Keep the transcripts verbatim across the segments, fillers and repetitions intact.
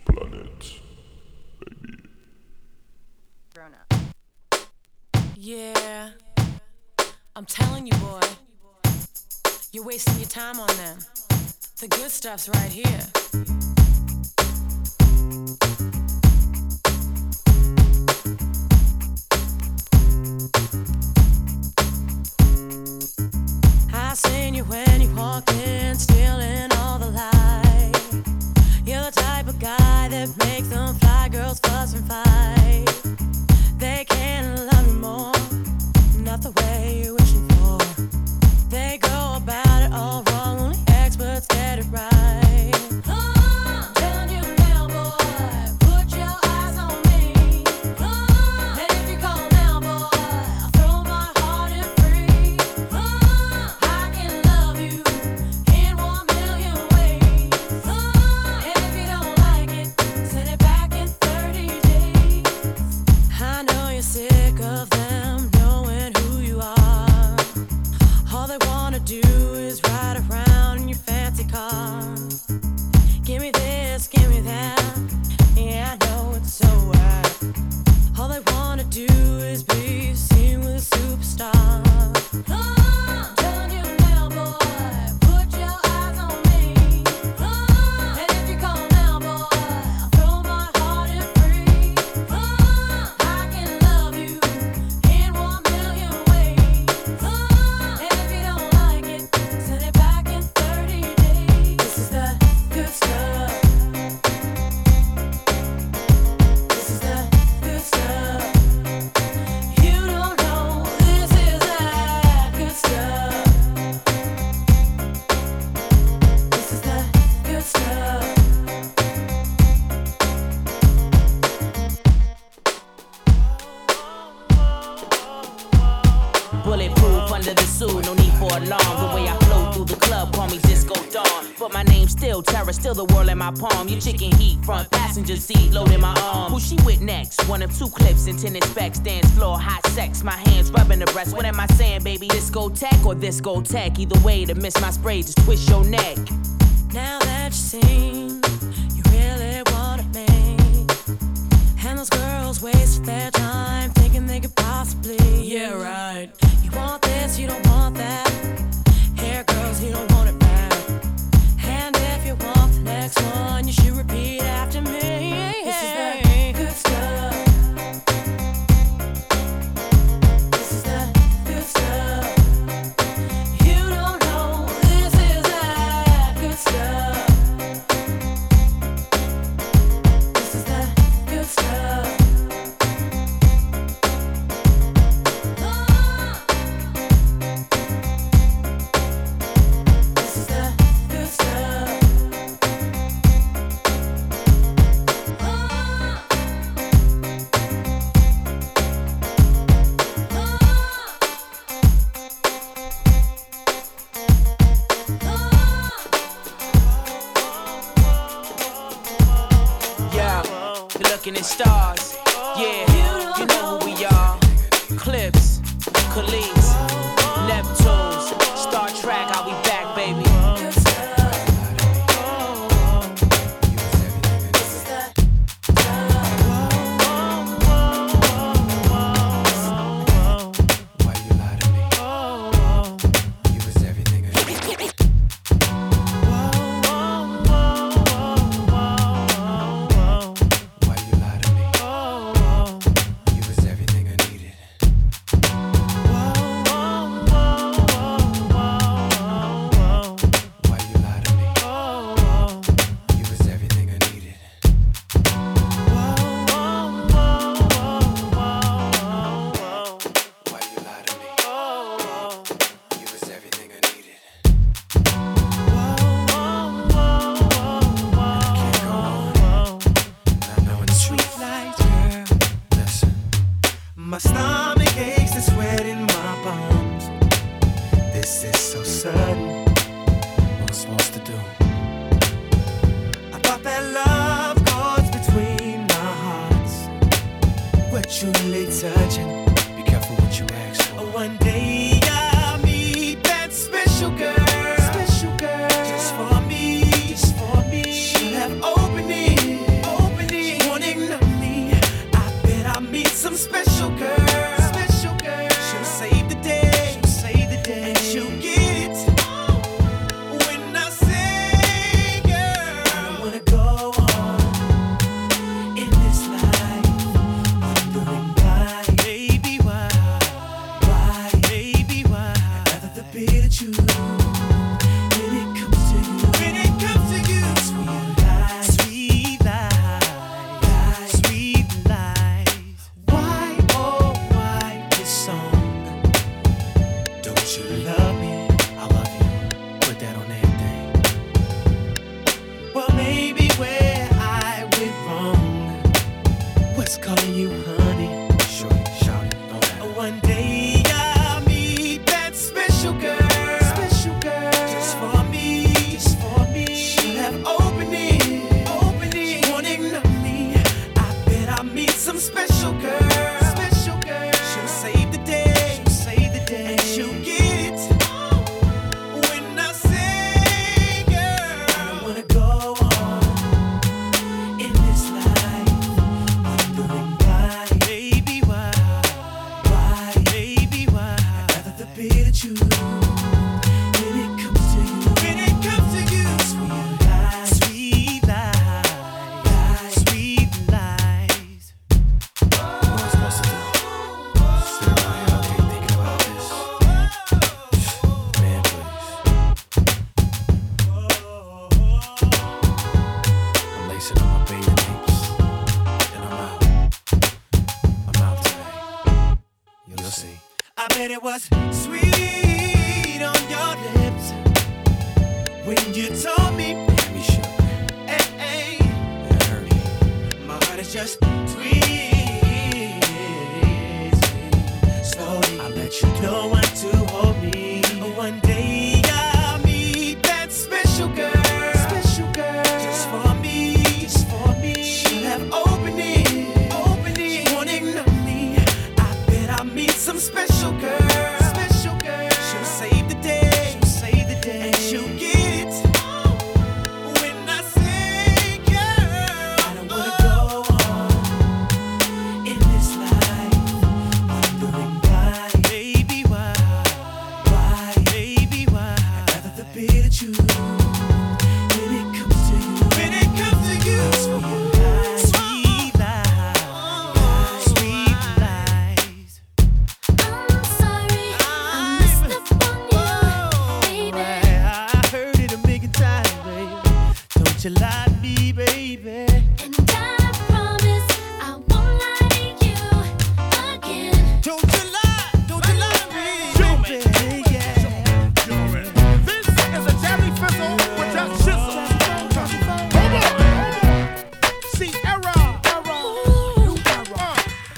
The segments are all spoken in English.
Planet, baby. Grown up. Yeah, I'm telling you, boy, you're wasting your time on them. The good stuff's right here. I seen you when you walked in, stealing all the light. You're the type of guy that makes them fly girls fuss and fight. They can't love you more, not the way you're wishing for. They go about it all wrong, only experts get it right. Oh, telling you now, boy, put your eyes on me. Oh, and if you call now, boy, I'll throw my heart in free. Oh, I can love you in one million ways. Oh, and if you don't like it, send it back in thirty days. I know you're sick of them knowing who you are. All they wanna do is ride around in your fancy car. Give me this, give me that. Yeah, I know it's so whack. All they wanna do is be seen with a superstar. Oh, I'm telling you now, boy, put your eyes on me. Oh, and if you call now, boy, I'll throw my heart in free. Oh, I can love you in one million ways. Oh, and if you don't like it, send it back in thirty days. This is the good stuff. This is the good stuff. You don't know this is that good stuff. This is the good stuff. Bulletproof under the suit, no need for alarm. The way I flow through the club, call me Disco Dawn. But my name's still Terror, still the world in my palm. You chicken heat, front passenger seat, loading my arm. Who she with next? One of two clips, intended specs, dance floor, hot sex. My hands rubbing the breast. What am I saying, baby? Discotheque or disco tech? Either way, to miss my spray, just twist your neck. Now that you've seen, you really want it, me. And those girls waste their time thinking they could possibly. Yeah, right. You want this, you don't want that. Here, girls, you don't want it back. And if you want the next one, you should repeat after me. This is the good stuff. This is the good stuff. You don't know this is that good stuff. This is the good stuff. This is the good stuff. Yeah, you're looking at stars. Yeah, you know who we are. Clips, Khalees, Neptunes, Star Trek, I'll be back, baby. Why you lie to me? You was everything I needed. Why you lie to me? You was everything I needed. Why you lie to me? You was everything I needed. Why you lie to me? You was everything I needed. I can't go on. I know it's sweet light, girl. Listen, my stomach aches and sweat in my bones. This is so sudden. What I'm supposed to do? I thought that love goes between our hearts. We're truly touching. Be careful what you ask for. One day I'll meet that special girl. Special girl. Just for me. Just for me. She'll have opened it. said it was sweet on your lips when you told me, baby, sugar. Hey, hey, my heart is just tweezing. Slowly, I'll let you know when to hold me. One day I'll meet that special girl, special girl, just for me, just for me. She'll have opening, opening. She won't ignore me. I bet I'll meet some special girl, special girl. She'll save the day, she'll save the day, and she'll get it. When I say, girl, I don't wanna go on in this life wondering why, baby, why, why, baby, why? I'd rather the bitter truth when it comes to you, when it comes to you. Sweet lies, sweet lies. I'm sorry, I messed up on you, baby. I heard it a million times, baby. Don't you lie to me, baby. And I promise I won't lie to you again. Don't you lie, don't you lie to me, baby. Yeah. This is a Jelly Fizzle with just shizzle. Hold on. See, era, era, new era,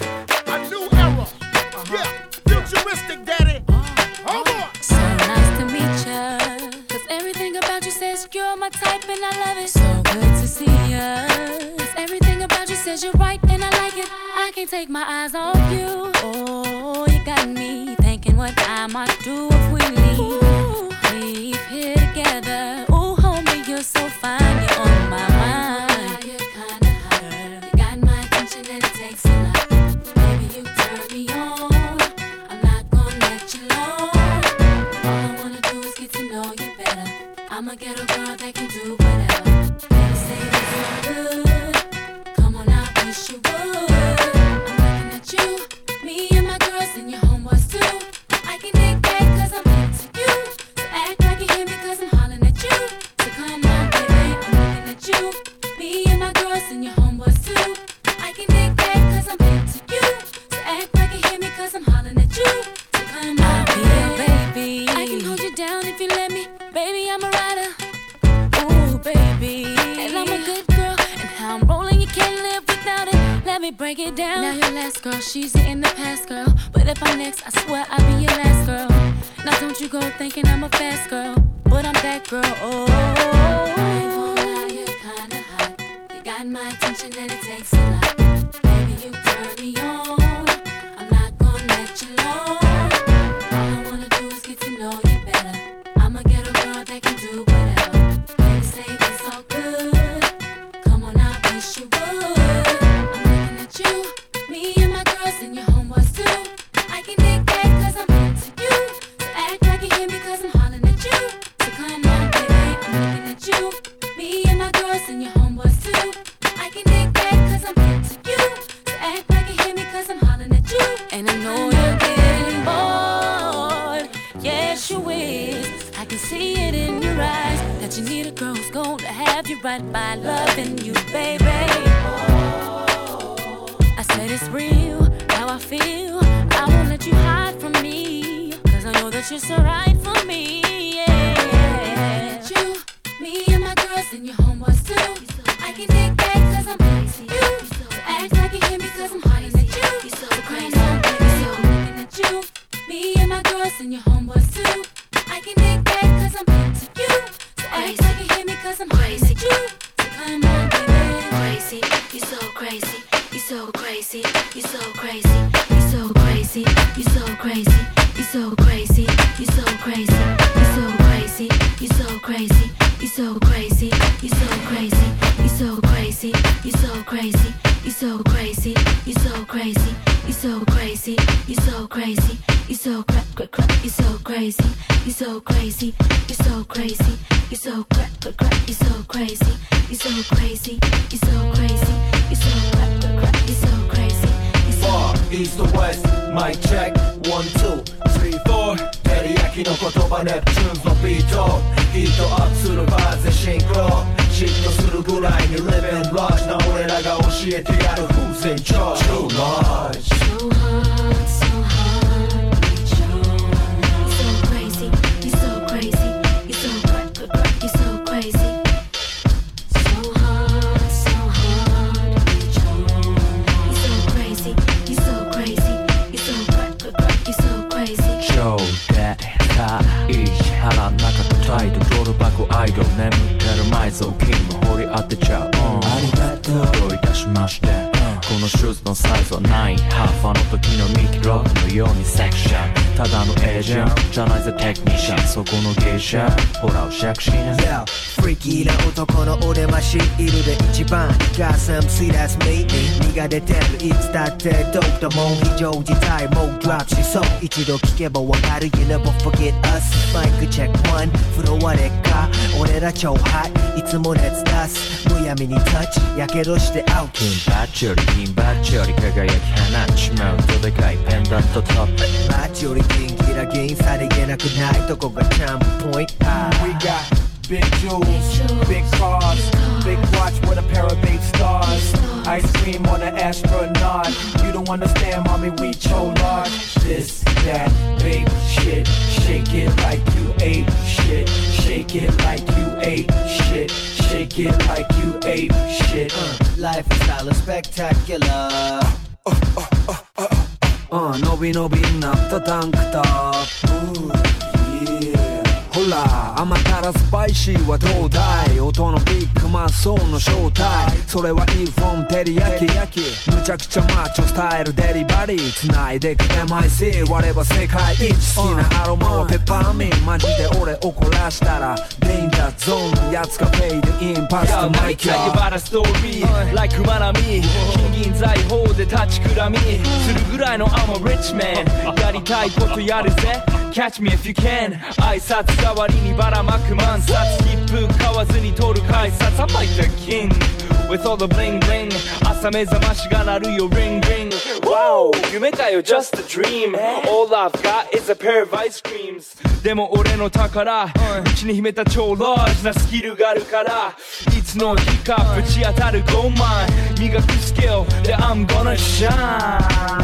a new era. Yeah, futuristic, daddy. Hold on. So nice to meet ya. Cause everything about you says you're my type and I love it. So good to see ya. Cause everything about you says you're right and I like it. I can't take my eyes off you. Oh, you got me thinking what I might do if we leave. Leave here together. Ooh, homie, you're so fine. You're on my mind. You're kinda hot. You got my attention and it takes a lot. Baby, you turn me on. I'm not gonna let you alone. All I wanna do is get to know you better. I'm a ghetto girl that can do whatever. They say this is good. Come on, I wish you would. I'm looking at you, me and my girls and your homeboys too. I can dig that cause I'm into you. So act like you hear me cause I'm hollering at you. So come on, baby, I'm looking at you, me and my girls and your homeboys too. I can dig that cause I'm into you. So act like you hear me cause I'm hollering at you. So come on, baby, I can hold you down if you let me. Baby, I'm a rider. Ooh, baby. And I'm a good girl. And how I'm rolling, you can't live without it. Let me break it down. Now your last girl, she's in the past, girl. But if I'm next, I swear I'll be your last girl. Now don't you go thinking I'm a fast girl. But I'm that girl, oh. I ain't gonna lie, you're kinda hot. You got my attention and it takes a lot. Baby, you turn me on. I'm not gonna let you alone. All I wanna do is get to know you better. I'm a ghetto girl that can do whatever. They say it's all good. Come on, I wish you would. I'm looking at you, me and my girls and your homeboys too. I can dig that cause I'm into you. So act like you hear me cause I'm hollering at you. So come on, baby, I'm looking at you, me and my girls and your homeboys too. I can dig that cause I'm into you. So act like you hear me cause I'm hollering at you. And I know you're getting bored. Yes, you is. I can see it in your eyes that you need a girl who's going to have you right by loving you, baby. I said it's real, how I feel. I won't let you hide from me, cause I know that you're so right for me, yeah. You, me and my girls and your homeboys too. I can dig that cause I'm into you. So act like you hear me cause I'm hollering at you. You're so crazy, baby, so I'm looking at you, me and my girls and your homeboys too. I can dig that cause I'm into you. So act like you hear me cause I'm hollering at you. So come on, baby. Crazy, you so crazy, you so crazy, you so crazy, you so crazy, you so crazy, you so crazy, you so crazy, you so crazy, you so crazy, you so crazy, you so crazy, you so crazy, you so crazy, you so crazy, you so crazy, you so crazy, you so crazy, you so cra cra cra, you so crazy, you so crazy, you so crazy, you so cra cra cra, you so crazy, you so crazy, you so crazy, you so cra cra cra, you so crazy. Far east to west, mic check, one, two, three, four. 照り焼きの言葉ネプチューンのビートヒートアップするバーズでシンクロ嫉妬するぐらいに Live and Rush な俺らが教えてやる Who's in charge? Too large So hard, so hard, need your まして、このシューズのサイズはナインハーフ、あの時のミキロックのようにセクション、ただのエージェントじゃないぜテクニシャン、そこの芸者ほらおしゃくしな Yo, フリーキーな男の俺はシールで一番 Got some sweet ass me 身が出てるいつだってドープだもん非常事態もうドラップしそう一度聞けばわかる You never forget us マイクチェックワンフロアでか俺ら超ハイいつも熱出すむやみにタッチやけどしてアウト金バッチより金バッチより輝き放っちまうとでかいペンダントトップマッチよりギンギラギンさりげなくないとこがチャンプポイント We got big jewels, big cars, big watch with a pair of big stars. Ice cream on an astronaut. You don't understand, mommy, we so large. This, that, babe, shit. Shake it like you ate shit. Shake it like you ate shit. Shake it like you ate shit. uh, Life is style is spectacular. Uh, uh, uh, uh, uh, uh, 伸び伸びになったタンクトップ Yeahほら甘辛スパイシーはどうだい音のビッグマンソーンの正体それはいいフォンテリヤキむちゃくちゃマッチョスタイルデリバリー繋いでく エムアイシー 割れば世界一好きなアロマはペッパーミンマジで俺怒らしたらデンジャーゾーンのやつがフェイドインパスとマイキャー Tell you about a story like 馬並み金銀財宝で立ちくらみするぐらいの I'm a rich man やりたいことやるぜ Catch me if you can 挨拶代わりにばらまく万冊切符買わずに取る改札 I'm like the king with all the bling bling 朝目覚ましが鳴るよ ring ring Wow 夢かよ just a dream All I've got is a pair of ice creams でも俺の宝内に秘めた超ラージなスキルがあるからいつの日かぶち当たるごまい磨くスキルで I'm gonna shine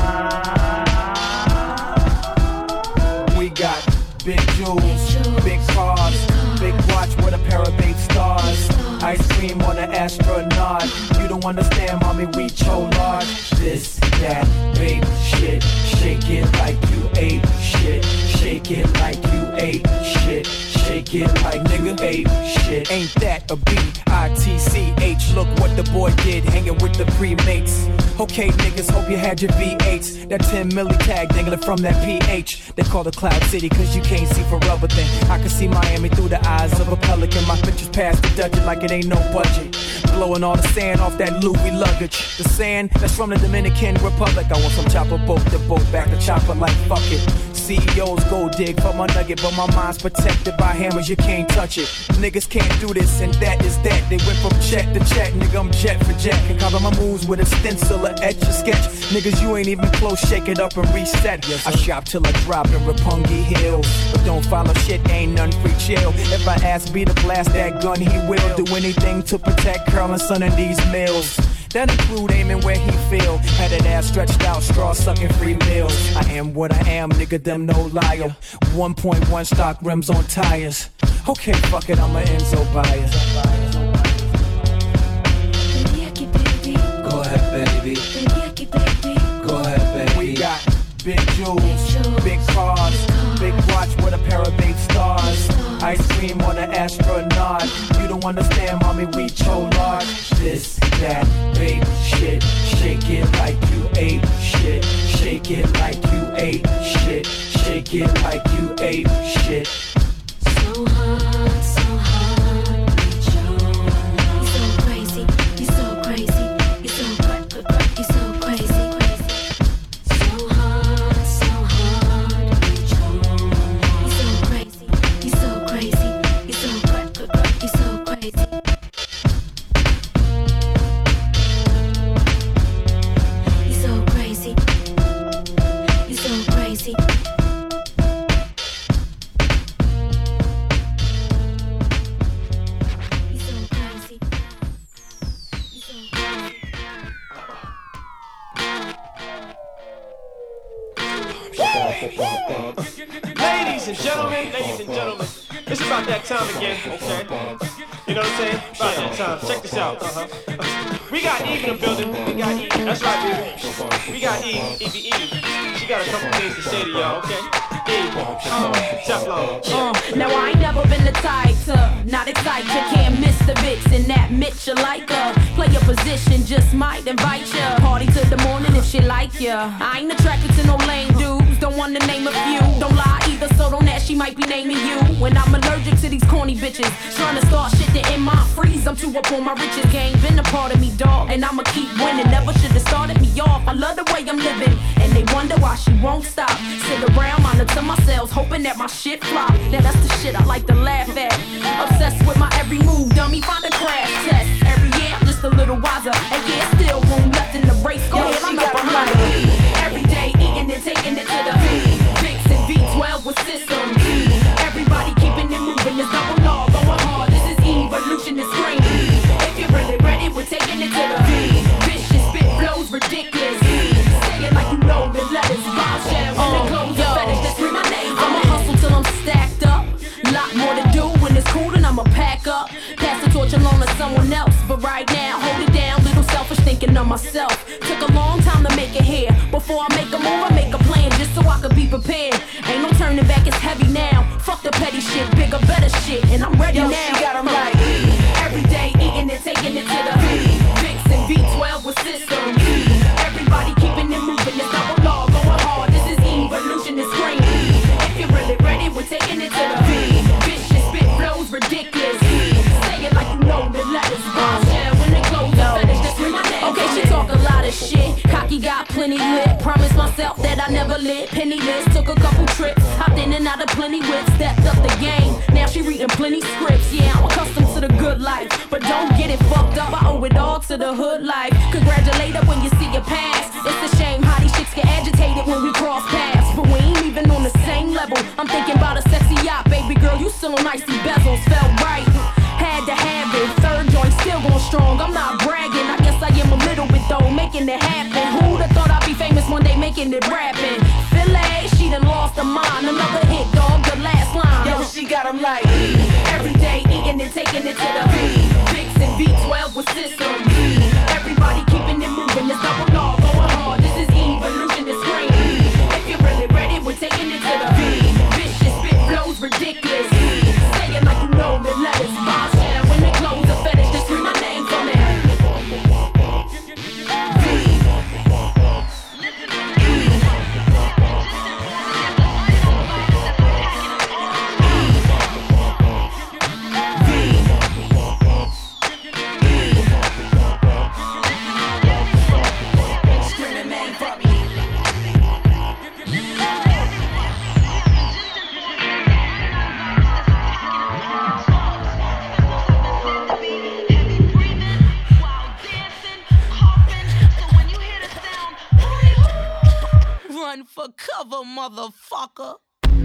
We got big jewels, big cars, big watch with a pair of big stars. Ice cream on an astronaut. You don't understand, mommy, we so large. This, that, babe, shit. Shake it like you ate shit. Shake it like you ate shit. Shake it like nigga ate shit. Ain't that a B I T C H? Look what the boy did, hanging with the pre-mates. Okay, niggas, hope you had your V eights. That ten milli tag dangling from that P H. They call it Cloud City, cause you can't see forever thing. I can see Miami through the eyes of a pelican. My pictures past the Dutchess like it ain't no budget. Blowing all the sand off that Louis luggage. The sand that's from the Dominican Republic. I want some chopper boat to boat back to chopper like fuck it. C E Os go dig for my nugget, but my mind's protected by hammers, you can't touch it. Niggas can't do this and that is that. They went from check to check, nigga, I'm jet for jet. Can cover my moves with a stencil or etch a sketch. Niggas, you ain't even close, shake it up and reset. I shop till I drop in Rapungi Hills, but don't follow shit, ain't none free chill. If I ask B to blast that gun, he will do anything to protect Curl and Son of these mills. That include aiming where he feel. Had that ass stretched out, straw sucking free meals. I am what I am, nigga, them no liar. one point one stock rims on tires. Okay, fuck it, I'm a Enzo buyer. Go ahead, baby. Go ahead, baby. We got big jewels, big cars, big watch with a pair of big stars. Ice cream on an astronaut. You don't understand, mommy, we so large. This, that, babe, shit. Shake it like you ate shit. Shake it like you ate shit. Shake it like you ate shit. So hard, so hard, you're so crazy, you're so crazy, you're so cra- cra- you're so crazy, crazy. So hard, so hard, you're so crazy, you're so crazy, you're so cra- cra- you're so crazy. You're so crazy, you're so crazy. Ladies and gentlemen, ladies and gentlemen, it's about that time again, okay? You know what I'm saying? About that time. Check this out. Uh-huh. We got Eve in the building. We got Eve. That's right, baby. We got Eve. Evie, Evie. She got a couple things to say to y'all, okay? Uh, Teflon. Uh, now I ain't never been the type to not excite you. Can't miss the vixen, that Mitch you like her. Play your position, just might invite ya. Party till the morning if she like ya. I ain't attracted to no lame dudes, don't want to name a few. Don't lie either, so don't ask, she might be naming you. When I'm allergic to these corny bitches, trying to start shit that in my freeze. I'm too up on my riches game, been a part of me, dog, and I'ma keep winning. Never should've started me off. I love the way I'm living, and they wonder why she won't stop. Sit around, monitor myself, hoping that my shit flop. Now that's the shit I like to laugh at. Obsessed with my every move, dummy, find a crash test. Every year I'm just a little wiser, and yeah, still room left in the race. Go ahead, I'm up behind it. Every day eating and taking it to the Vicks and V twelve with system. Everybody keeping it moving, it's double law, going hard. This is evolution, it's green. If you're really ready, we're taking it to the vicious spit flows ridiculous. Say it like you know the letters, bombshell, and the clothes, the fetish, that's where my name. I'ma hustle till I'm stacked up. Lot more to do when it's cool, and I'ma pack up. Pass the torch along to someone else, but right now, hold it down. Little selfish thinking of myself. Took a long time to make it here. Before I make a move, I make a plan just so I could be prepared. Ain't no turning back, it's heavy now. Fuck the petty shit, bigger, better shit, and I'm ready Yo, now. she got 'em right. Every day eating and taking it to the Vicks and V twelve with system. Everybody keeping it moving, it's double law, going hard. This is evolution, it's green. If you're really ready, we're taking it to the vicious spit flows ridiculous. Say it like you know the letters, bombshell when it close the fetish, that's where my name. Okay, she talk a lot of shit. Cocky got plenty lit. Promised myself that I never lit. Penniless, took a couple trips. Hopped in and out of plenty whips. Stepped up the game. Now she reading plenty scripts. Yeah, I'm accustomed to the good life, but don't get it fucked up. I owe it all to the hood life. Congratulate her when you see your past. It's a shame how these chicks get agitated when we cross paths, but we ain't even on the same level. I'm thinking about a sexy yacht, baby girl. You still on icy bezels. Felt right. Had to have it. Third joint still going strong. I'm not bragging. I guess I am a little bit though, making it happen. Who'd have thought I'd be famous one day, making it rapping? Philly, she done lost her mind. Another hit, dog, the last line. Yo, she got 'em like every day eating and taking it to the Vicks and V twelve with system. Everybody keeping it moving, it's double law, going hard. This is evolution, it's green. If you're really ready, we're taking it to the vicious spit flows ridiculous. Say it like you know the letters, bombshell when it close the fetish, just scream my name from it. Run for cover, motherfucker.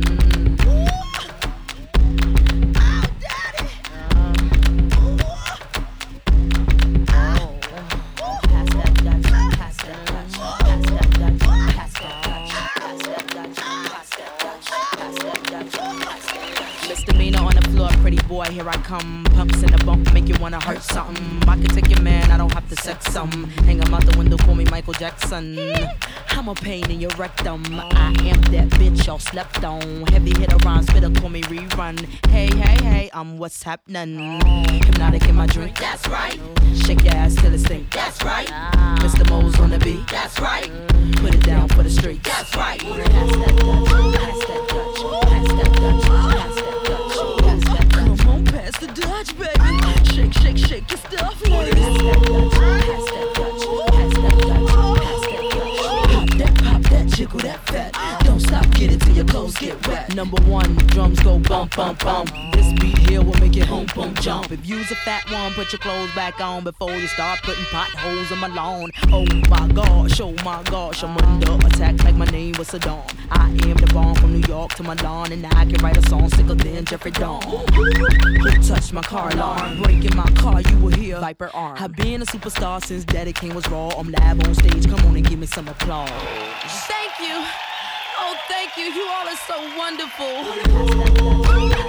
Misdemeanor on the floor, pretty boy, here I come. Pumps in the bump, make you wanna hurt something. I can take your man, I don't have to sex some. Hang him out the window, call me Michael Jackson. I'm a pain in your rectum. I am that bitch y'all slept on. Heavy hitter rhymes, spitter, call me rerun. Hey, hey, hey, I'm what's happening. Hypnotic in my drink, that's right. Shake your ass till it stink, that's right. Mister Mo's on the beat, that's right. Put it down for the streets, that's right. Pass that Dutch, pass that Dutch, pass that Dutch, pass that Dutch, pass that Dutch. Come on, pass the Dutch, baby. Shake, shake, shake your stuff, ladies. Pass that Dutch, pass that Dutch, pass that Dutch, pass that Dutch. Pop that, pop that, jiggle that fat. Don't stop, get it till your clothes get wet. Number one, drums go bump, bump, bump. This beat here will make it home, bump, jump. If you's a fat one, put your clothes back on before you start putting potholes in my lawn. Oh my gosh, oh my gosh, I'm under attack like my name was Saddam. I am the bomb from New York to Milan, and I can write a song sicker than Jeffrey Dawn. Who touched my car alarm? Breaking my car, you will hear Viper arm. I've been a superstar since Daddy King was raw. I'm live on stage, come on and give me some applause. Thank you. Oh, thank you. You all are so wonderful.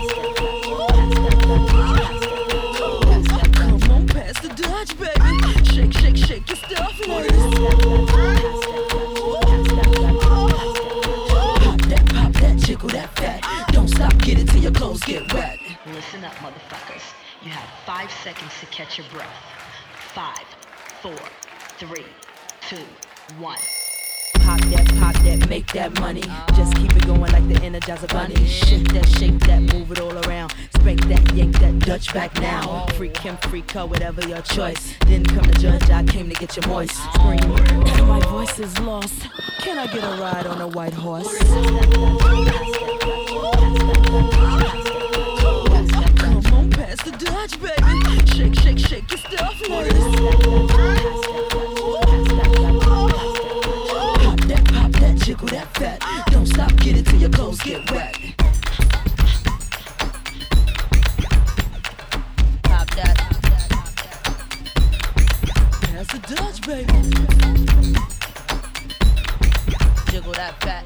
Come on, pass the Dutch, baby. Shake, shake, shake your stuff, ladies. Pop that, pop that, jiggle that. catch your breath. Five, four, three, two, one. Pop that, pop that, make that money. Just keep it going like the Energizer Bunny. Shake that, shake that, move it all around. Spank that, yank that, Dutch back now. Freak him, freak her, whatever your choice. Didn't come to judge, I came to get you moist. Scream, oh, my voice is lost. Can I get a ride on a white horse? Come on, pass the Dutch, baby. Shake, shake, shake your stuff, ladies. Jiggle that fat, don't stop, get it till your clothes get wet. Pop that. That's the Dutch, baby. Jiggle that fat.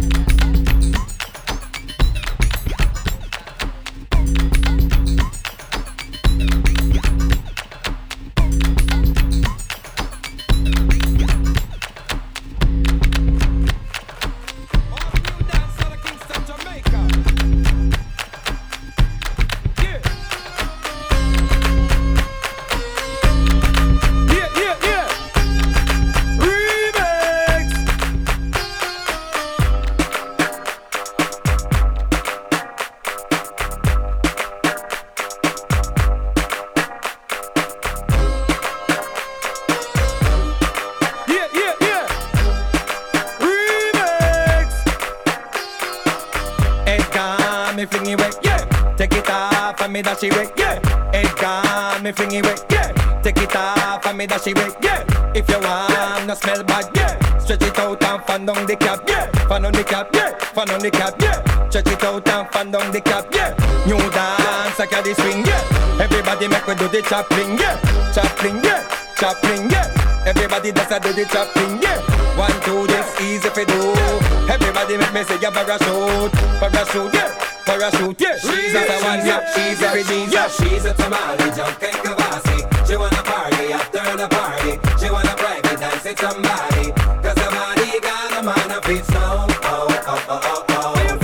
Dash it away, yeah. Head gone, me fling it away, yeah. Take it off and me dash it away, yeah. If you want, no smell bad, yeah. Stretch it out and fan down the cap, yeah. Fan on the cap, yeah. Fan on the cap, yeah. Stretch it out and fan down the cap, yeah. New dance, I got the swing, yeah. Everybody make we do the chopping, yeah. Chopping, yeah. Chopping, yeah. Everybody does a do the chopping, yeah. One, two, this easy for do. Everybody make me say a parachute, parachute, yeah. Parachute, yeah. She's a one, yeah. She's a redeem, yeah. She's a tamale, junk and kavasi. She wanna party after the party. She wanna private dance with somebody. Cause somebody got a man of its own. Oh, oh, oh, oh, oh.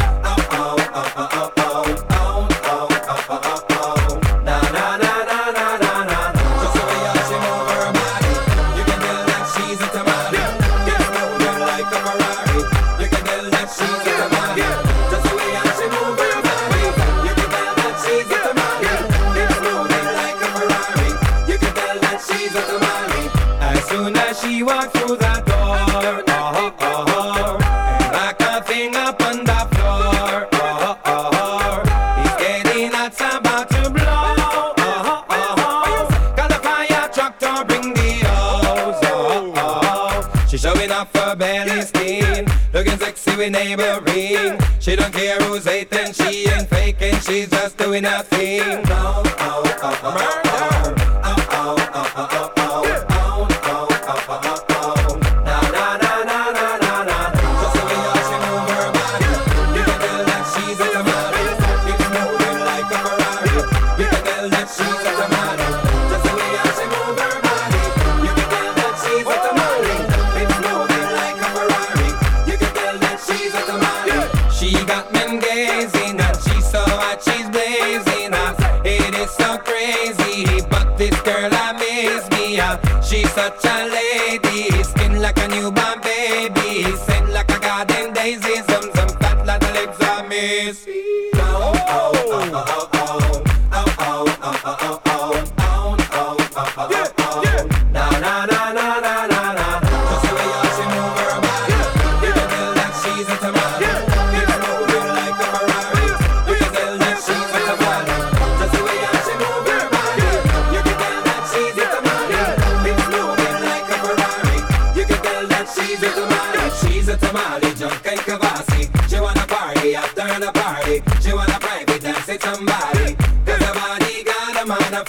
She walked through the door, oh, oh, oh, and like a thing up on the floor, oh, oh, oh, it's getting hot, about to blow, oh, oh, oh, got the fire truck to bring the hose, oh, oh, she's showing off her belly skin, looking sexy with neighboring, she don't care who's hating, she ain't faking, she's just doing her thing, oh, oh, oh, oh, oh, murder, oh, oh, oh, oh, oh. She's such a lady, skin like a newborn baby, scent like a garden daisy, some some fat like the legs of miss. Oh oh oh oh oh oh oh oh oh oh oh oh oh oh. Na na na na na na na. Just the way how she move her body, you can tell that she's a tamale. It's moving like a Ferrari, you can tell that she's a tamale. Just the way how she move her body, you can tell that she's a tamale. She's a tamale, she's a tamale, junk and kavasi. She wanna party after the party. She wanna private dance with somebody. Cause her body got a man of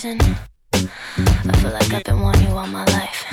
reason, I feel like I've been wanting you all my life.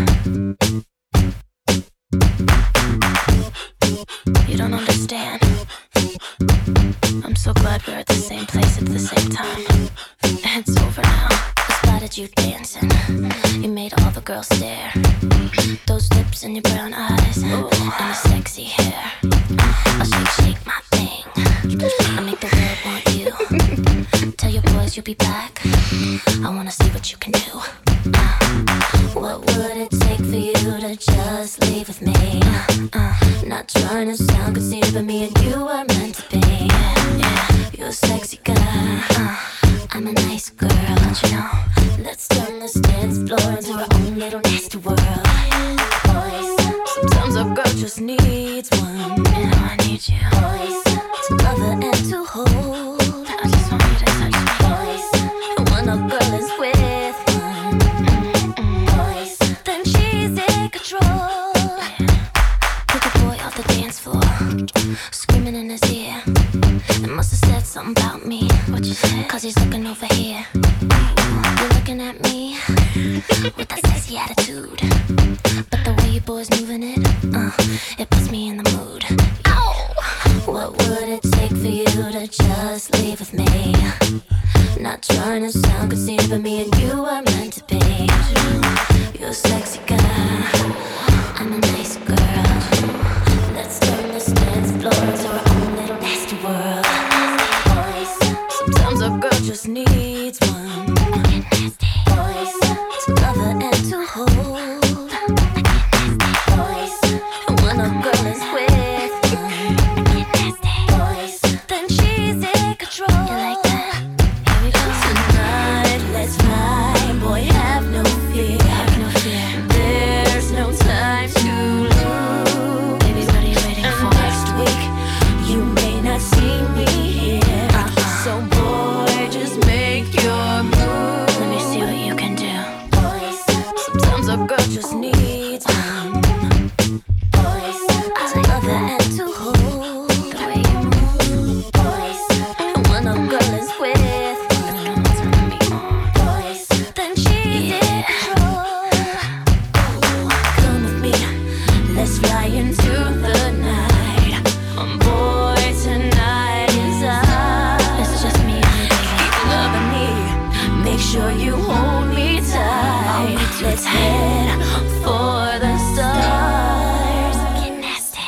You don't understand. I'm so glad we're at the same place at the same time. It's over now. I spotted you dancing. You made all the girls stare. Those lips and your brown eyes, ooh, and the sexy hair. I'll shake, shake my thing. I make the world want you. Tell your boys you'll be back. I wanna see what you can do. Uh, what would it take for you to just leave with me? Uh, uh, not trying to sound conceited, but me and you are meant to be. Yeah, yeah. You're a sexy girl. Uh, I'm a nice girl, don't you know? Let's turn this dance floor into our own little nasty world. Sometimes a girl just needs one. You know I need you to love her and to hold. I just want you to touch me. And when a girl is with one, mm-mm, then she's in control. Pick a boy off the dance floor, screaming in his ear. It must have said something about me. What you said? Cause he's looking over here. You're looking at me with that sexy attitude. But the way you boys moving it, uh, it puts me in the mood. Ow! What would it take for you to just leave with me? Not trying to sound conceited, but me and you are meant to be. You're a sexy girl, I'm a nice girl. Let's turn this dance floor into our own little nasty world. Sometimes a girl just needs one to love her and to hold. And when a girl is with one, then she's in control. You like that? Here we go. Tonight, let's fly. Boy, have no fear. Have no fear. There's no time to lose. Baby, what are you waiting for? Next week, you may not see me here. Uh-uh. So boy, just make your move. Let me see what you can do. Sometimes a girl just needs one to love her and to hold. The way you move. And when a girl is with one, then she's in control. Come with me, let's fly into the night. Um, boy, tonight is ours. It's just me and you, baby. Keep loving me. Make sure you hold me tight. Let's head for the stars. Get nasty.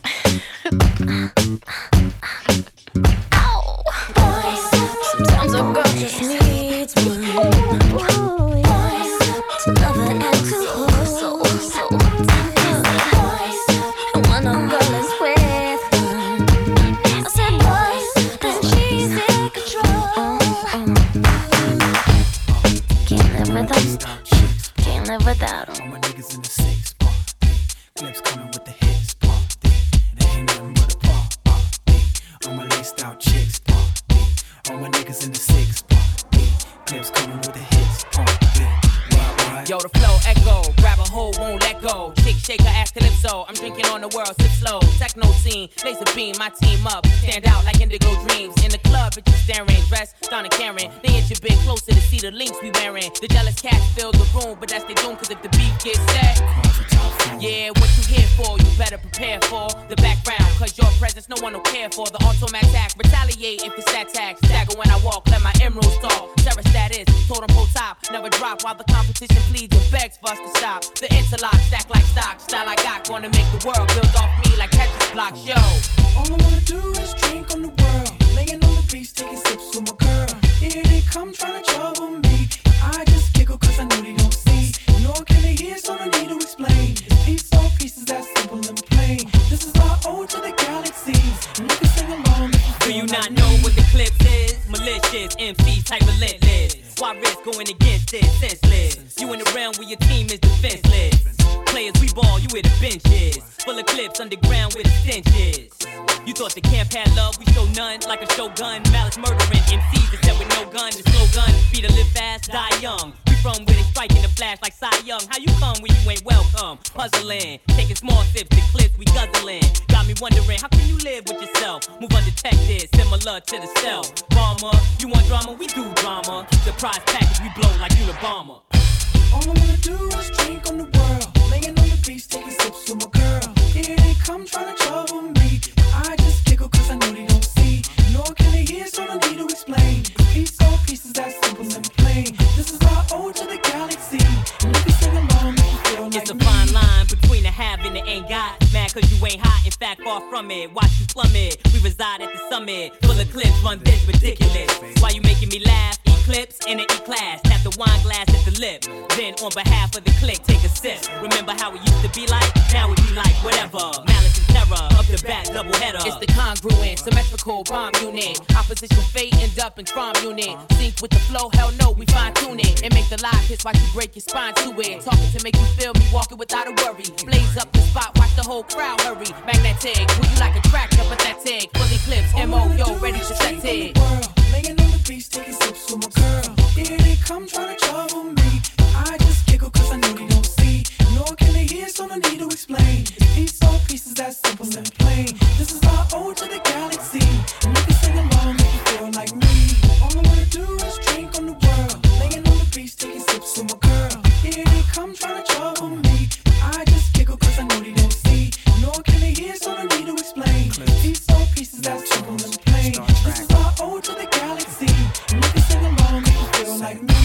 Ow. Sometimes a girl just needs one to love her and to hold. So, so, and when a girl is with one, I said boys, then she's in control. Can't live without them. Can't live without them. All my niggas in the six bar. Clips coming with the hits bar. There ain't nothing but a bar. All my laced out chicks bar. All my niggas in the six bar. Clips coming with the hits bar. Yo, the flow echo, grab a hold, won't let go. Chick shake her ass calypso. I'm drinking on the world, sip slow. Techno scene, laser beam, my team up. Stand out like indigo dreams. In the club, bitches staring, dressed, Donna Karen. They inch a bit closer to see the links we wearing. The jealous cats fill the room, but that's they doom, cause if the beat gets set, yeah, what you here for, you better prepare for the background, cause your presence no one will care for. The automatic, retaliate if it's that tax. Stagger when I walk, let my emeralds talk. Terror status, totem pole top, never drop while the competition pleads and begs for us to stop. The interlock, stack like stock, style I got, gonna make the world build off me like Tetris blocks, yo. All I wanna do is drink on the world, laying on the beach, taking sips with my girl. Here they come trying to trouble me. I just giggle cause I know they don't see, nor can they hear, so no need to explain. Piece on pieces, that's simple and plain. This is our ode to the galaxies, and you can sing along if you feel. Do you not know what the clips is? Malicious, M Cs type relentless. Why risk going against it? Senseless. You in the realm where your team is defenseless. Players, we ball, you where the bench is. Full of clips underground where the stench is. You thought the camp had love, we show none. Like a shogun, malice murdering M Cs that said with no gun. The slogan, be to live fast, die young. We from where they strike in the flash like Cy Young. How you come when you ain't welcome? Puzzling, taking small sips, the clips we guzzling. Got me wondering, how can you live with yourself? Move undetected, similar similar to the cell. Bomber, you want drama? We do drama. Keep the prize package, we blow like you the bomber. All I wanna do is drink on the world, laying on the beach, taking sips with my girl. Here they come trying to trouble me. I just giggle cause I know they don't see. Nor can they hear, so no need to explain. Piece all pieces, that simple and plain. This is our ode to the galaxy. And if you sing along, make you feel like it's a me. fine line between the have and the ain't got. Mad cause you ain't hot, in fact far from it. Watch you plummet, we reside at the summit. Full of clips, run this ridiculous. Why you making me laugh? Eclipse in the E-class, tap the wine glass at the lip. Then on behalf of the clique, take a sip. Remember how it used to be like? Now it be like whatever. Malice and terror, up the back, double header. It's the congruent, symmetrical bomb unit. Opposition fate, end up in prom unit. Sync with the flow, hell no, we fine tune it. And make the live hits while you break your spine to it. Talking to make you feel me, walking without a worry. Blaze up the spot, watch the whole crowd hurry. Magnetic, who you like a tractor, pathetic. Fully clips, M O, yo, ready to set it. Laying on the beach, taking sips with my girl. Here they come trying to trouble me. I just giggle cause I know they don't see. Nor can they hear, so no need to explain. Piece all pieces, that simple and plain. This is our ode to the galaxy. And if you sing along, make you feel like me. All I wanna do is drink on the world, laying on the beach, taking sips with my girl. Here they come trying to trouble me. I just giggle cause I know they don't see. Nor can they hear, so no need to explain. Piece all pieces, that simple and plain. This is our ode to the galaxy. And if you sing along, make you feel like me.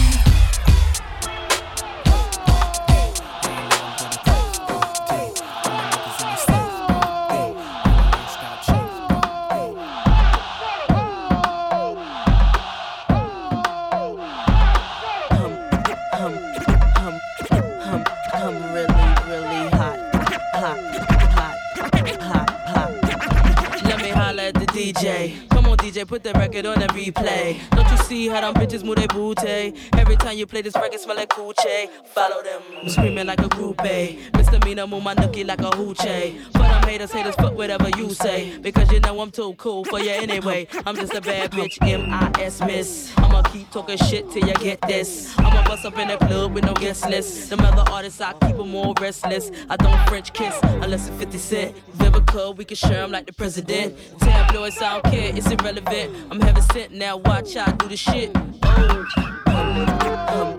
D J, come on D J, put the record on the replay. Don't you see how them bitches move their booty? Every time you play this record smell like coochie. Follow them, screaming like a groupie. Misdemeanor, move my nookie like a hoochie. For them haters, haters, fuck whatever you say. Because you know I'm too cool for you anyway. I'm just a bad bitch, M I S miss. I'ma keep talking shit till you get this. I'ma bust up in the club with no guest list. Them other artists, I keep them all restless. I don't French kiss unless it's fifty cent. Vivica, we can share them like the president. Tabloids, I don't care, it's irrelevant. I'm heaven sent now, watch how I do the shit. Oh. Um, um,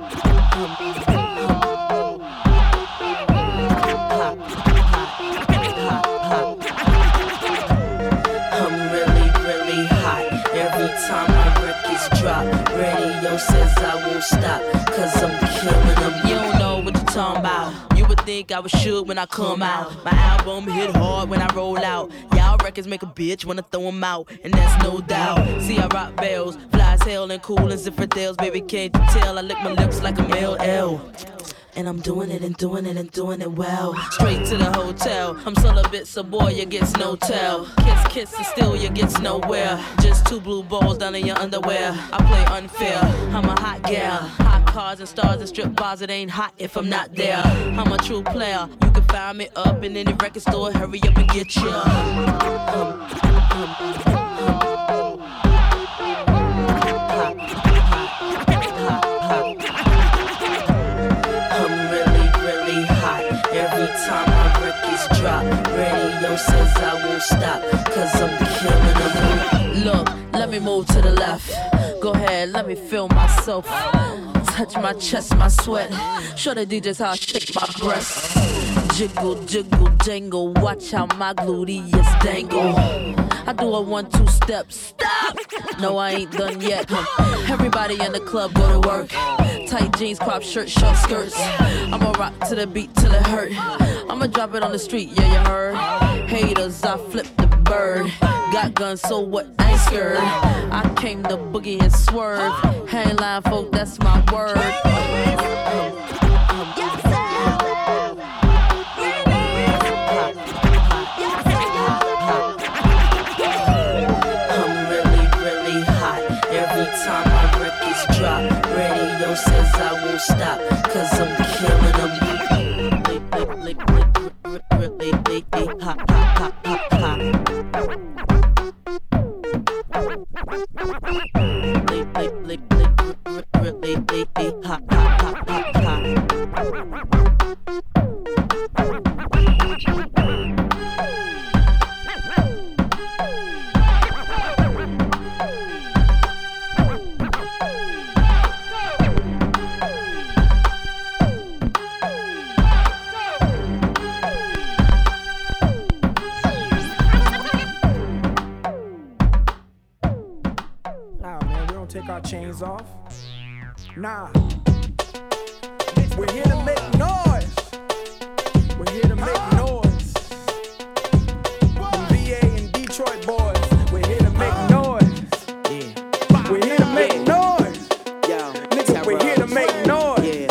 I'm really, really hot. Every time my records drop, radio says I won't stop, cause I'm killing them. You don't know what you're talking about. You would think I was shook when I come out. My album hit hard when I roll out. Y'all records make a bitch wanna throw them out, and that's no doubt. See, I rock bells, fly as hell and cool as infidels. Baby, can't you tell? I lick my lips like a male L. And I'm doing it and doing it and doing it well. Straight to the hotel. I'm celibate, so boy, you gets no tell. Kiss, kiss, and still you gets nowhere. Just two blue balls down in your underwear. I play unfair. I'm a hot gal. Hot cars and stars and strip bars. It ain't hot if I'm not there. I'm a true player. You can find me up in any record store. Hurry up and get ya. Um, um, um, Every time my records drop, radio says I won't stop, cause I'm killing them. Look, let me move to the left. Go ahead, let me feel myself. Touch my chest, my sweat. Show the D Js how I shake my breasts. Jiggle, jiggle, jangle. Watch how my gluteus dangle. I do a one, two step. Stop! No, I ain't done yet. Everybody in the club go to work. Tight jeans, crop shirt, short skirts. I'ma rock to the beat till it hurt. I'ma drop it on the street, yeah, you heard. Haters, I flip the bird. Got guns, so what? I ain't scared. I came to boogie and swerve. Hang line, folk, that's my word. Time my records drop, radio says I won't stop, cause I'm killing them. Hot, hot, hot, hot, hot. Hot, hot, hot, hot, hot. take our chains off. Nah. We're here to make noise. We're here to make noise. From V A and Detroit boys, we're here to make noise. Yeah. We're here to make noise. Yo, nigga, we're here to make noise. Yeah.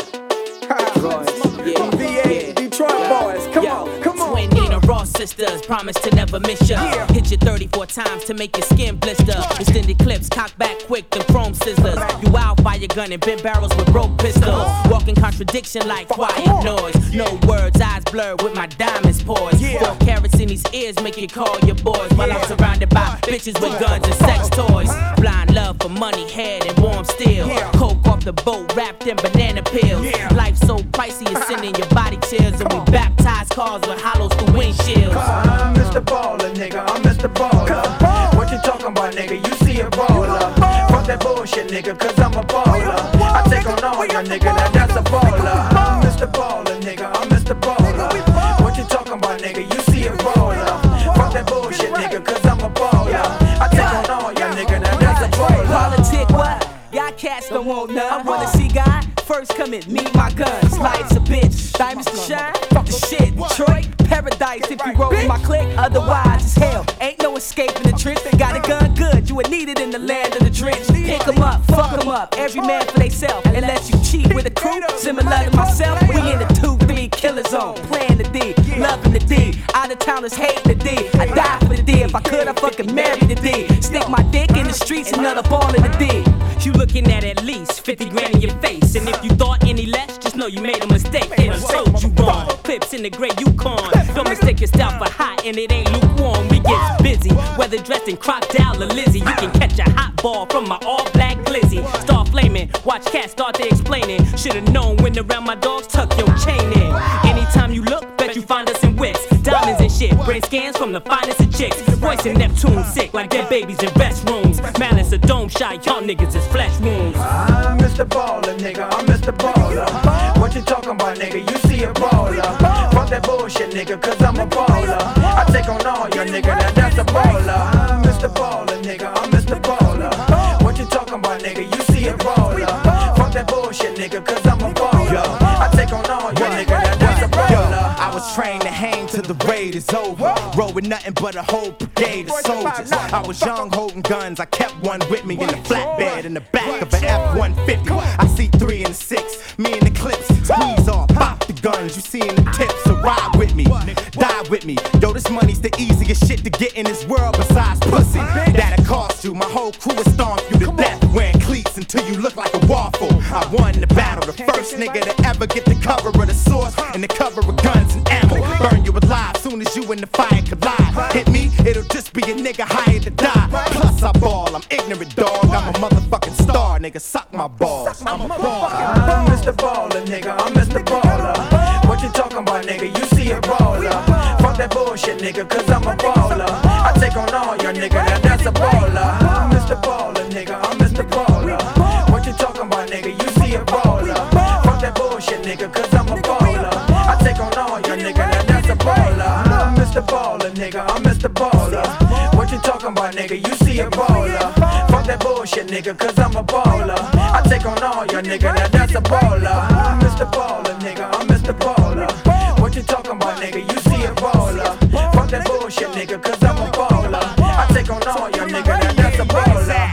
From V A and Detroit boys, come on, come on. Twin Nina Ross sisters, promise to never miss ya. Yeah. Hit you thirty-four times to make your skin blister. Extended clips, cock back quick, the chrome scissors. You wildfire gun and bent barrels with broke pistols. Walking contradiction like quiet noise. No words, eyes blurred with my diamonds poised. Four carats in these ears make you call your boys. While I'm surrounded by bitches with guns and sex toys. Blind love for money, head and warm steel. Coke off the boat, wrapped in banana peels. Life so pricey, it's sending your body chills. And we baptize cars with hollows through windshields. I'm Mister Baller, nigga, I'm Mister Baller. What you talking about, nigga? You see a baller. Fuck that bullshit, nigga, cause I'm a baller. I take on all your nigga, now that's a baller. I'm Mister Baller, nigga, I'm Mister Baller. What you talking about, nigga? You see a baller. Fuck that bullshit, nigga, cause I'm a baller. I take on all your nigga, now that's a baller. Politic, what? Y'all cats don't want none. I wanna see God? First come and meet my guns. Life's a bitch, diamonds to shine. Fuck the shit, Detroit, paradise if you roll with my clique. Otherwise it's hell, ain't no escaping the trench. Got a gun good, you would need it in the land of the drenched. Pick 'em up, fuck 'em up, every man for theyself. Unless you cheat with a crew, similar to myself. We in the two three killer zone, playing the D, loving the D. Out of towners hating the D. I die for the D, if I could I fucking marry the D. Stick my dick in the streets, another ball in the D. You looking at at least fifty grand in your face. And if you thought any less, just know you made a mistake. They done told you wrong. Clips in the gray Yukon. Don't mistake yourself for hot and it ain't lukewarm. We get busy, whether dressed in crocodile or Lizzie. You can catch a hot ball from my all black glizzy. Start flaming, watch cats start they explaining. Should've known when around my dogs, tuck your chain in. Anytime you look, bet you find us in wicks. Diamonds and shit, brain scans from the finest of chicks. Voice in Neptune sick like dead babies in restrooms. Malice a dome shot, y'all niggas is flesh wounds. I'm Mister Baller, nigga, I'm Mister Baller. What you talking about, nigga? You see a baller. Fuck that bullshit, nigga, cause I'm a baller. I take on all your nigga, now that's a baller. I'm Mister Baller, nigga, I'm Mister Baller. What you talking about, nigga? You see a baller. Fuck that bullshit, nigga, cause I'm a baller. I take on all your nigga, now that's a baller. I was trained to hang till the raid is over. Roll with nothing but a whole brigade of soldiers. I was young holding guns, I kept one with me in the flatbed in the back of an F one fifty. I see three and six, me and the clips, squeeze off, pop the guns, you see in the tips. So ride with me, die with me. Yo, this money's the easiest shit to get in this world besides pussy. That'll cost you, my whole crew will stomp you to death. Wearing cleats until you look like a waffle. I won the battle, the first nigga to ever get the cover of the source and the cover of guns and ammo. Burn you alive soon as you and the fire collide. Hit me, it'll just be a nigga hired to die. Plus I ball, I'm ignorant dog, I'm a motherfucking star, nigga, suck my balls. I'm a baller. I'm Mister Baller, nigga, I'm Mister Baller. What you talking about, nigga? You see a baller. Fuck that bullshit, nigga, cause I'm a baller. I take on all your nigga, now that's a baller. I'm Mister Baller, nigga, I'm Mister Baller. What you talking about, nigga? You see a baller. Fuck that bullshit, nigga, cause I'm a baller. I take on all your nigga, now that's a baller. I'm Mister Baller, nigga, I'm Mister Baller. What you talking about, nigga? You see a baller. Fuck that bullshit, nigga, cause I'm a baller. I take on all your nigga, now that's a baller. I'm Mister Baller, nigga, I'm Mister Baller. What you talking about, nigga? You see a baller. Fuck that bullshit, nigga, cause I'm a baller. I take on all your nigga, now that's a baller.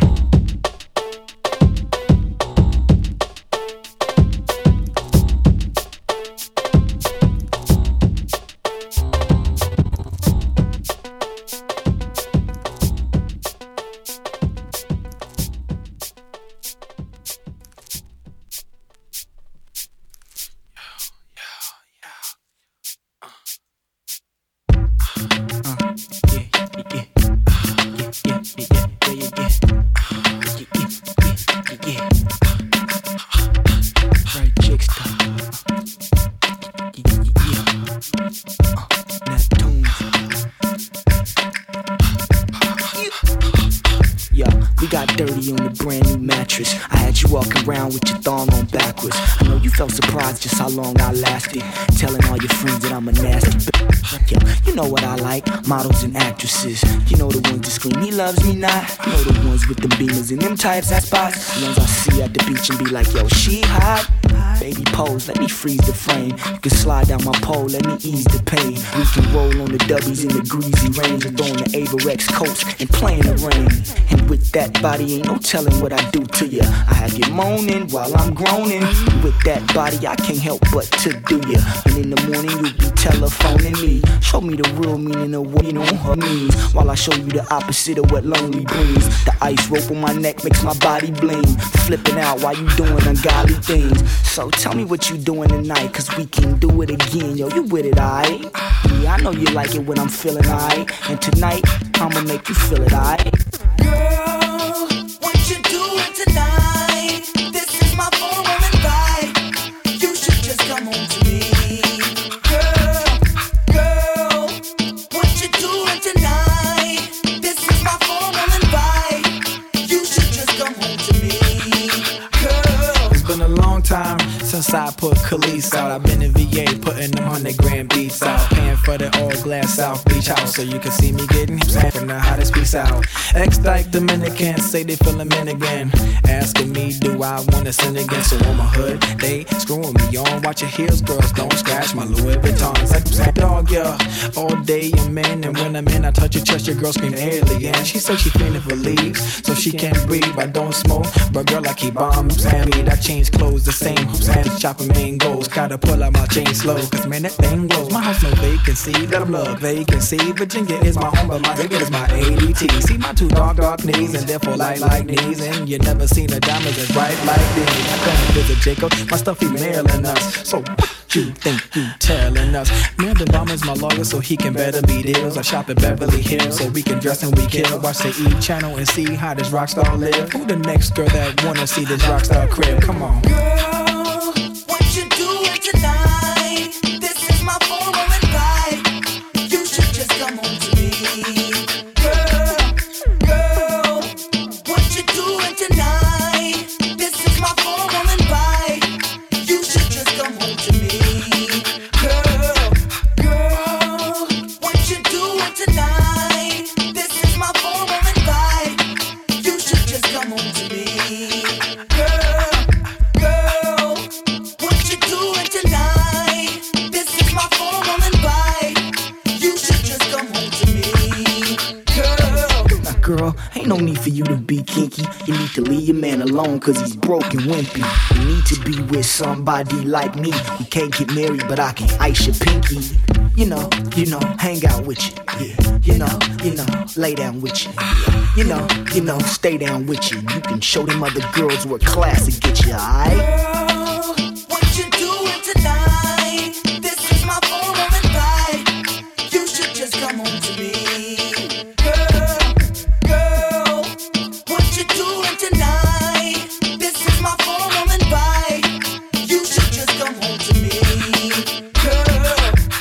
Yeah, yeah, yeah, yeah, yeah. We got dirty on the brand new mattress. I had you walking around with your thong on backwards. I know you felt surprised just how long I lasted, telling all your friends that I'm a nasty bitch. Yeah, you know what I like, models and actresses. You know the ones that scream, he loves me not. You know the ones with them beamers and them types that spots. The ones I see at the beach and be like, yo, she hot. Baby pose, let me freeze the frame. You can slide down my pole, let me ease the pain. We can roll on the dubbies in the greasy range and throwing the Averex coats and playing the rain. And with that body, ain't no telling what I do to ya. I have you moaning while I'm groaning. With that body, I can't help but to do ya. And in the morning, you'll be telephoning me. Show me the real meaning of what you know her means, while I show you the opposite of what lonely brings. The ice rope on my neck makes my body bling. Flipping out while you doing ungodly things. So tell me what you doing tonight, cause we can do it again. Yo, you with it, aight? Yeah, I know you like it when I'm feeling aight. And tonight, I'ma make you feel it, aight? Girl, what you doing tonight? This is my forum invite. You should just come home to me. Girl, girl, what you doing tonight? This is my forum invite. You should just come home to me. Girl, it's been a long time since I put Khalees out. I've been in V A putting them hundred grand beats out, paying for the all glass South Beach house so you can see me getting him from the hottest piece out. Ex-dyke Dominicans say they feeling men again, asking me do I wanna sin again. So on my hood they screwing me on. Watch your heels, girls, don't scratch my Louis Vuittons. Like I'm saying, dog, yeah, all day I'm in, and when I'm in I touch your chest, your girl scream alien. She said she feeling for leaves so she can't breathe. I don't smoke, but girl I keep on. I'm saying I change clothes the same. I'm saying chopping mangoes, gotta pull out my chain slow, cause man that thing glows. My house no vacancy, that I'm love vacancy. Virginia is my home, but my nigga is my A D T. See my two dark dark knees, and therefore light like knees, and you never seen a diamond as bright like these. I come visit Jacob, my stuff he mailing us. So what you think you telling us? Man, the bomb is my lawyer, so he can better me deals. I shop at Beverly Hills, so we can dress and we kill. Watch the E channel and see how this rock star live. Who the next girl that wanna see this rock star crib? Come on. girl, what you doing tonight? This is my forum invite. You should just come home to me. Girl, girl, what you doing tonight? This is my forum invite. You should just come home to me. Girl, girl, what you doing tonight? This is my forum invite. You should just come home to me. Girl, girl, what you doing tonight? This is my forum invite. You should just come home to me. Girl, Now, girl, ain't no need for you to be kinky. You need to leave your man alone, cause he's broke and wimpy. You need to be with somebody like me. We can't get married, but I can ice your pinky. You know, you know, hang out with you. Yeah. You know, you know, lay down with you. Yeah. You know, you know, stay down with you. You can show them other girls what class to get you, alright? girl, what you doing tonight? This is my forum invite. You should just come home to me. Girl, girl, what you doing tonight? This is my forum invite. You should just come home to me. Girl,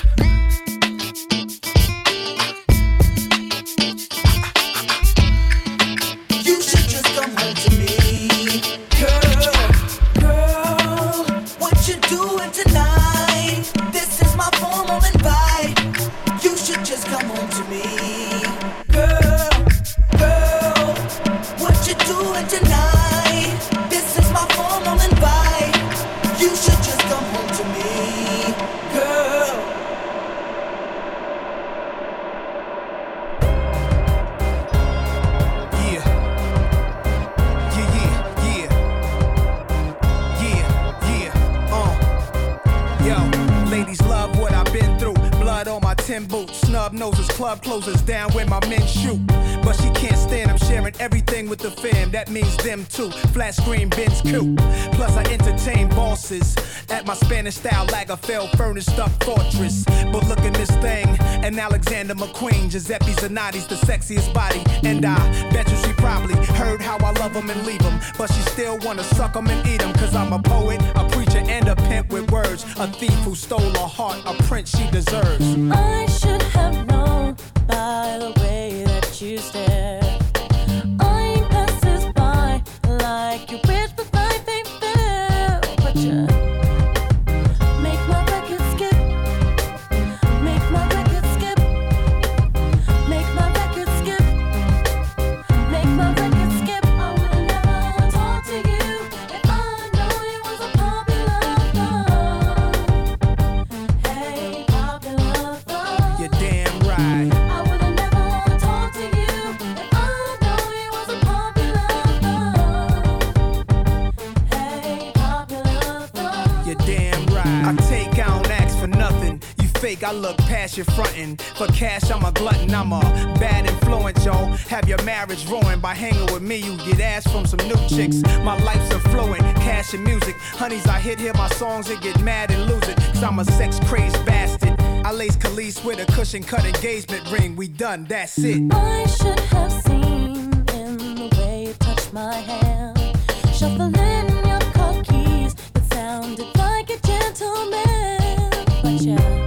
you should just come home to me. Girl, girl, what you doing tonight? This is my formal invite. You should just come home to me. Girl, girl, what you doing tonight? This is my formal invite. You should just come home to me. Girl. Yeah. Yeah, yeah, yeah. Yeah, yeah, uh. Yo, ladies love what I've been through. Blood on my tin boots, snub noses, club closers down where my men shoot. But she can't stand, I'm sharing everything with the fam. That means them too. Flat screen, Benz coupe. Plus I entertain bosses at my Spanish style Lagerfeld furnished up fortress. But look at this thing, an Alexander McQueen. Giuseppe Zanotti's the sexiest body. And I bet you she probably heard how I love him and leave him. But she still wanna suck him and eat him. Cause I'm a poet, a preacher, and a pimp with words. A thief who stole her heart, a prince she deserves. I should have known by the way that you stare. I ain't past this fake, I look past your frontin'. For cash, I'm a glutton, I'm a bad influence, yo. Have your marriage ruined by hanging with me. You get ass from some new chicks. My life's affluent, cash and music. Honeys, I hit hear my songs and get mad and lose it. Cause I'm a sex crazed bastard. I lace Khalees with a cushion cut engagement ring. We done, that's it. I should have seen in the way you touched my hand, shuffling your car keys that sounded like a gentleman. But yeah.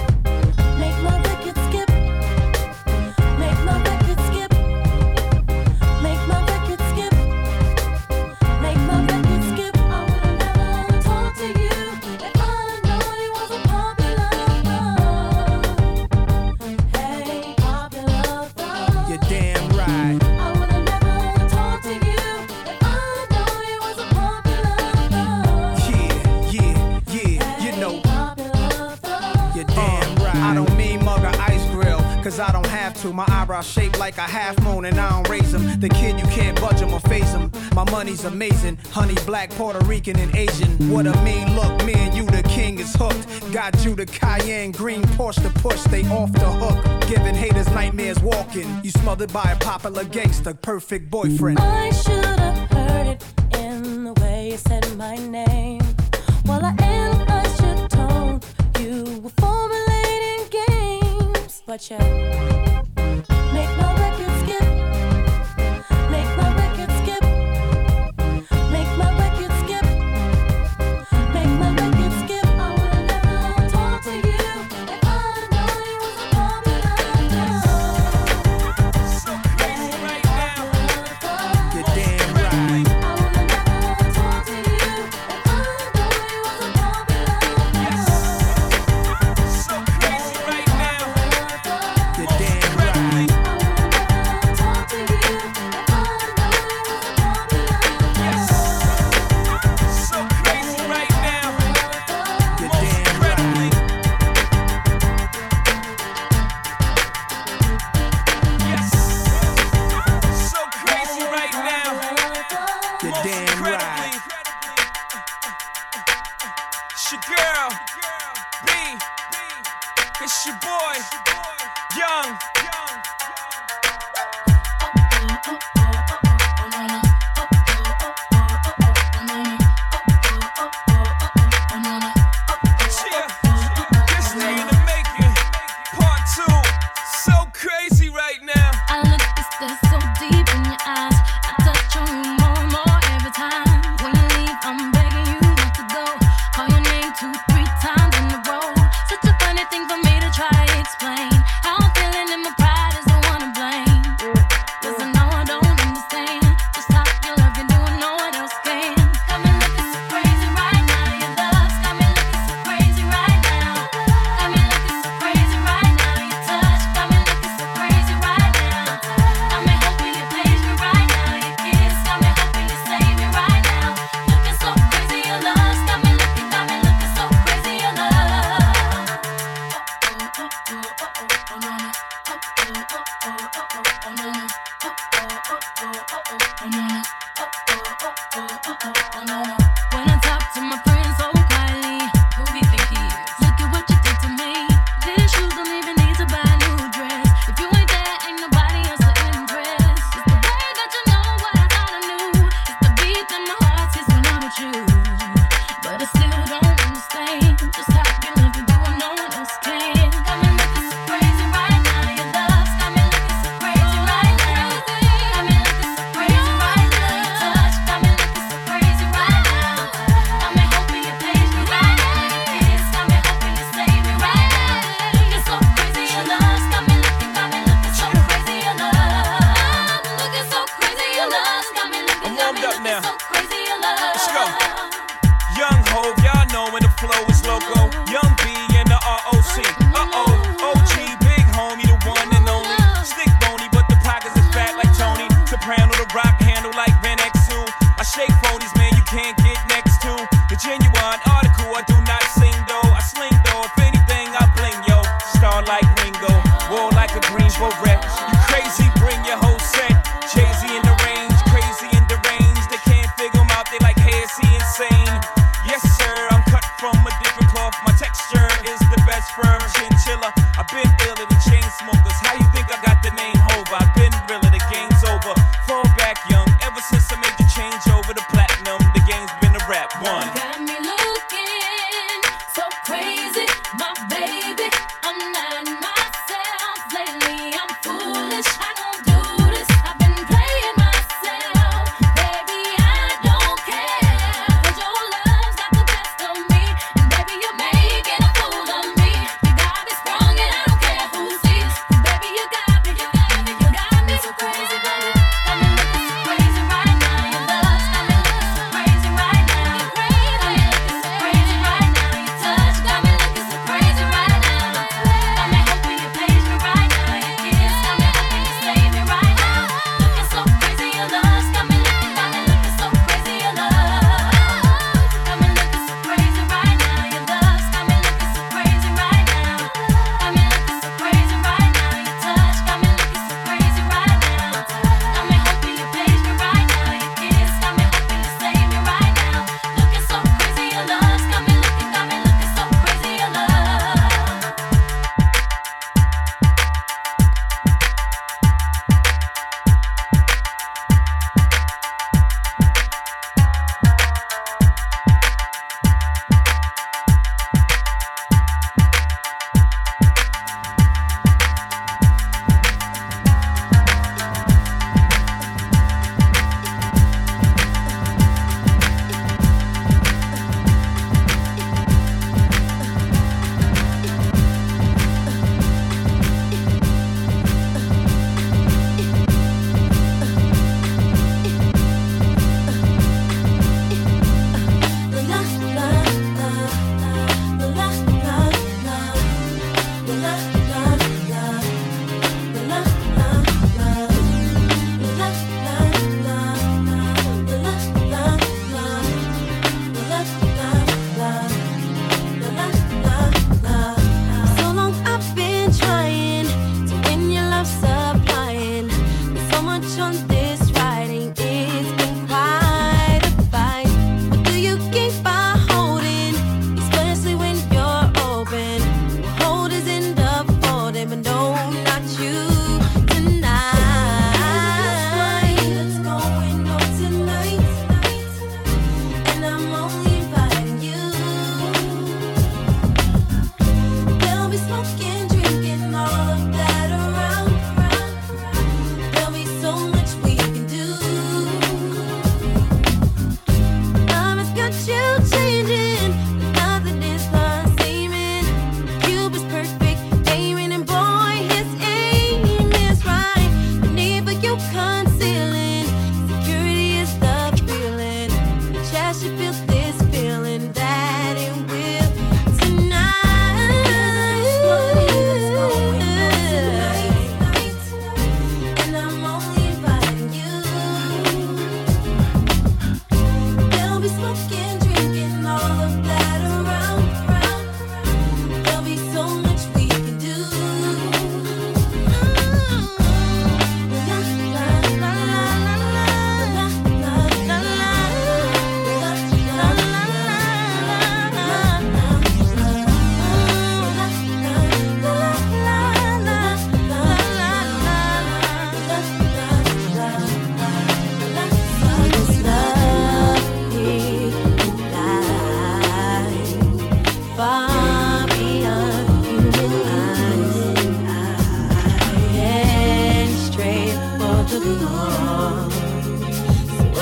I don't have to, my eyebrows shaped like a half moon and I don't raise them. The kid, you can't budge him or phase him. My money's amazing, honey, black, Puerto Rican and Asian. What a mean look, me and you, the king is hooked. Got you the Cayenne green Porsche to push, they off the hook. Giving haters nightmares walking. You smothered by a popular gangster, perfect boyfriend. I should have heard it in the way you said my name. While I analyzed your tone, you were formulating games. But yeah, make my record skip. Make my record skip. Make my record skip. Make my record skip. I would've never talked to you if I know you was a popular girl. So crazy right now. You're damn right. I would've never talked to you if I know you was a popular girl. So crazy right now. You're damn right. So crazy right now. You're damn right. Yes. So crazy right now. You're Most damn incredibly. right. It's your girl, B. It's your boy, Young. Yeah. This day in the making, part two. So crazy right now. I look at this so deep in your eyes. I touch on you more and more every time. When you leave, I'm begging you not to go. Call your name two, three times in a row. Such a funny thing for me to try to explain. How I'm feeling and my pride is the one to blame. Cause I know I don't understand just how you love you doing no one else can. Got me looking so crazy right now. Your love's got me looking so crazy right now. Got me looking so crazy right now. Your touch got me looking so crazy right now. Got me hoping you please me right now. Your kiss got me hoping you save me right now. Looking so crazy, your love's got me looking, got me looking so crazy, your love. When I talk to my friends so quietly, who do you think he is? Look at what you did to me. These shoes don't even need to buy a new dress. If you ain't there, ain't nobody else to impress. It's the way that you know what I thought I knew. It's the beat that my heart sees when I'm with you. But I still don't understand just how you love me doing no one else can. Got me looking so crazy right now. Your love's got me looking so crazy right now. Got me looking so crazy right now. Your touch got me looking so crazy right now. Got me hoping you please me right now. Your kiss got me hoping you save me right now. Looking so crazy, your love's got me looking, got me looking so crazy, your love. I'm looking so crazy, your love's got me looking, I'm got me warmed up looking now. so crazy, your love. Let's go. Young Hov, y'all know when the flow is loco. Young B and the R O C. Uh-oh, O G, big homie, the one and only. Stick bony, but the pockets is fat like Tony. Soprano, the rock handle like Ben X two. I shake phonies, man, you can't get next to. The genuine article, I do not sing though. I sling though, if anything, I bling, yo. Star like Ringo, war like a green beret. You crazy, bring your whole set. Jay-Z in the range, crazy in the range. They can't figure him out, they like, hey, is he insane? Yes, sir, I'm cut from a different cloth. My texture is the best firm. Chin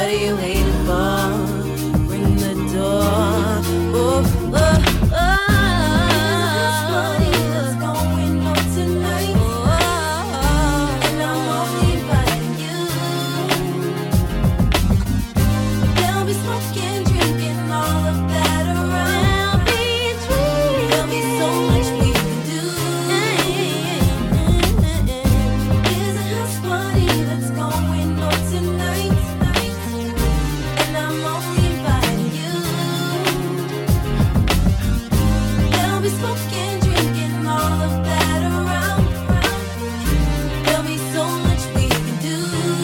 What are you waiting for? Ring the door. Oh, oh, oh. What's going on tonight? Oh, and I'm only inviting you. There'll be smoking, drinking, all of that around. There'll be drinking. There'll be so much we can do. There's a house party that's going on tonight. And I'm only inviting you. There'll be smoking, drinking, all of that around. There'll be so much we can do.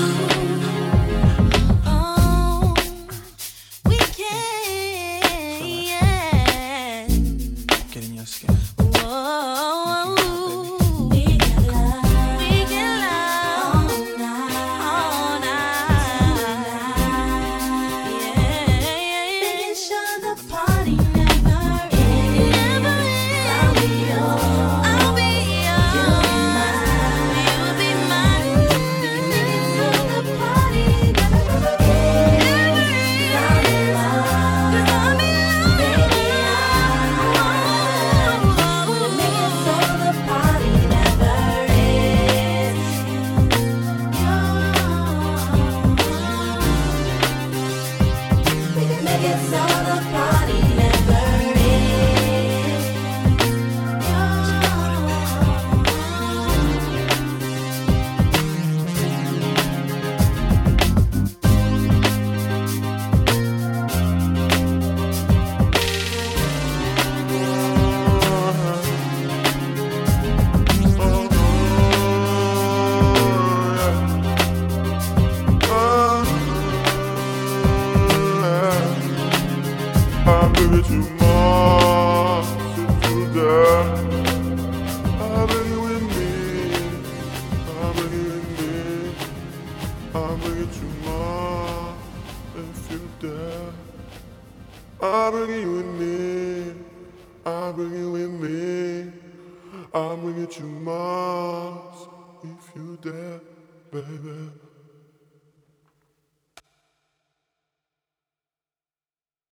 Oh, we can. Get in your skin. Whoa, we can love, we can love all night, all night. Yeah, making sure the party never ends. Never ends. I'll be yours. I'll be yours. You'll be mine. You'll be mine. Making sure the party never ends. I'll be yours. 'Cause I'll be yours. Baby, I'm making sure the party never ends. We can make it so the party never ends. I'll bring it to Mars if you dare. I'll bring it with me. I'll bring it with me. I'll bring it to Mars if you dare. I'll bring it with me. I'll bring it with me. I'll bring it to Mars if you dare, baby.